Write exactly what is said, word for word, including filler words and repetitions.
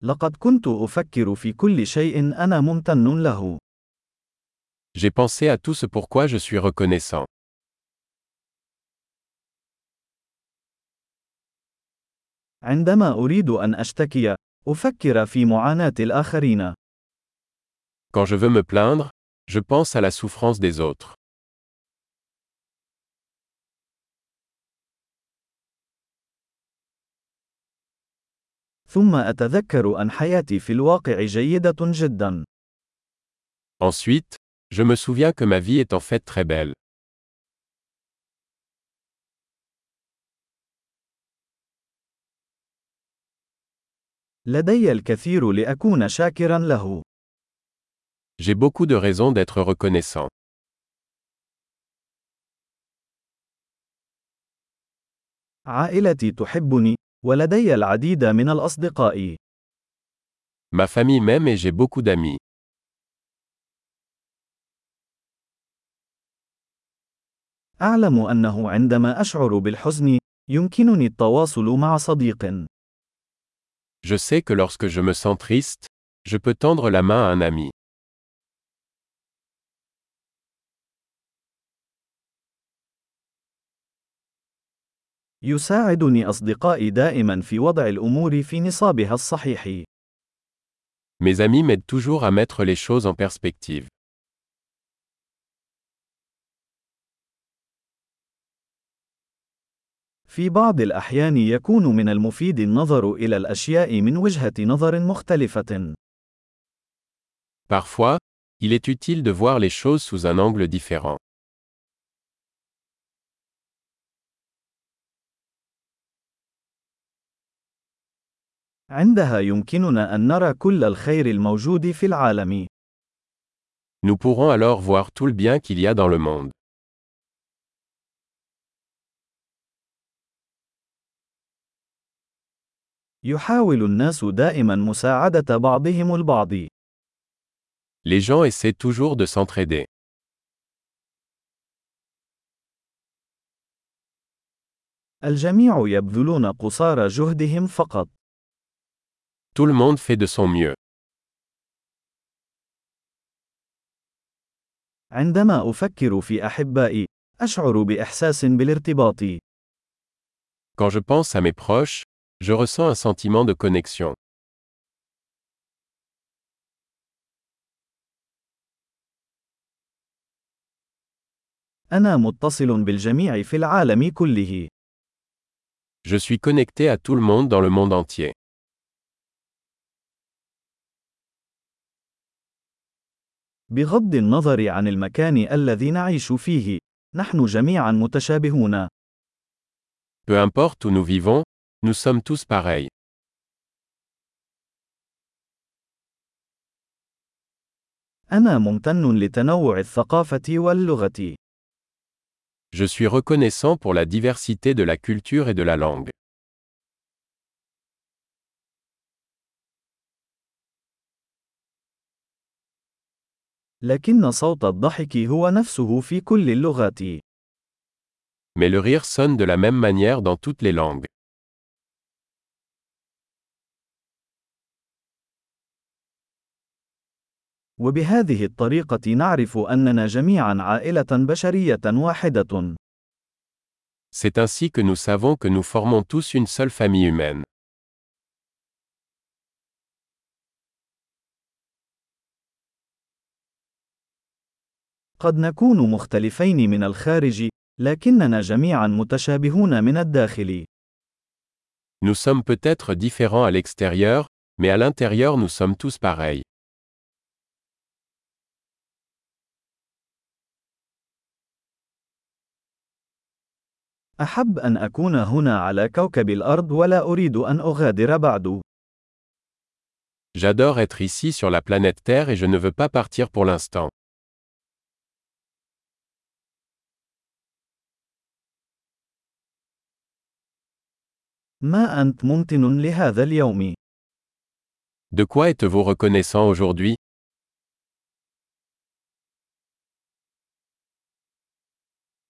لقد كنت أفكر في كل شيء أنا ممتن له. J'ai pensé à tout ce pourquoi je suis reconnaissant. عندما أريد أن أشتكي، أفكر في معاناة الآخرين. Quand je veux me plaindre, je pense à la souffrance des autres. ثم أتذكر أن حياتي في الواقع جيدة جدا. Ensuite, je me souviens que ma vie est en fait très belle. لدي الكثير لأكون شاكرا له. J'ai beaucoup de raisons d'être reconnaissant. عائلتي تحبني، ولدي العديد من الأصدقاء. Ma famille m'aime et j'ai beaucoup d'amis. أعلم أنه عندما أشعر بالحزن، يمكنني التواصل مع صديق. Je sais que lorsque je me sens triste, je peux tendre la main à un ami. يساعدني أصدقائي دائما في وضع الأمور في نصابها الصحيح. Mes amis m'aident toujours à mettre les choses en perspective. في بعض الأحيان يكون من المفيد النظر إلى الأشياء من وجهة نظر مختلفة. Parfois, il est utile de voir les choses sous un angle différent. عندها يمكننا أن نرى كل الخير الموجود في العالم. Nous pourrons alors voir tout le bien qu'il y a dans le monde. يحاول الناس دائما مساعدة بعضهم البعض. Les gens essaient toujours de s'entraider. الجميع يبذلون قصارى جهدهم فقط. Tout le monde fait de son mieux. عندما أفكر في أحبائي، أشعر بإحساس بالارتباط. Quand je pense à mes proches, je ressens un sentiment de connexion. أنا متصل بالجميع في العالم كله. Je suis connecté à tout le monde dans le monde entier. بغض النظر عن المكان الذي نعيش فيه، نحن جميعا متشابهون. Peu importe où nous vivons, nous sommes tous pareils. أنا ممتن لتنوع الثقافة واللغة. Je suis reconnaissant pour la diversité de la culture et de la langue. لكن صوت الضحك هو نفسه في كل اللغات. Mais le rire sonne de la même manière dans toutes les langues. وبهذه الطريقة نعرف أننا جميعا عائلة بشرية واحدة. C'est ainsi que nous savons que nous formons tous une seule famille humaine. قد نكون مختلفين من الخارج، لكننا جميعا متشابهون من الداخل. Nous sommes peut-être différents à l'extérieur, mais à l'intérieur nous sommes tous pareils. أحب أن أكون هنا على كوكب الأرض ولا أريد أن أغادر بعد. J'adore être ici sur la planète Terre et je ne veux pas partir pour l'instant. ما أنت ممتن لهذا اليوم؟ De quoi êtes-vous reconnaissant aujourd'hui?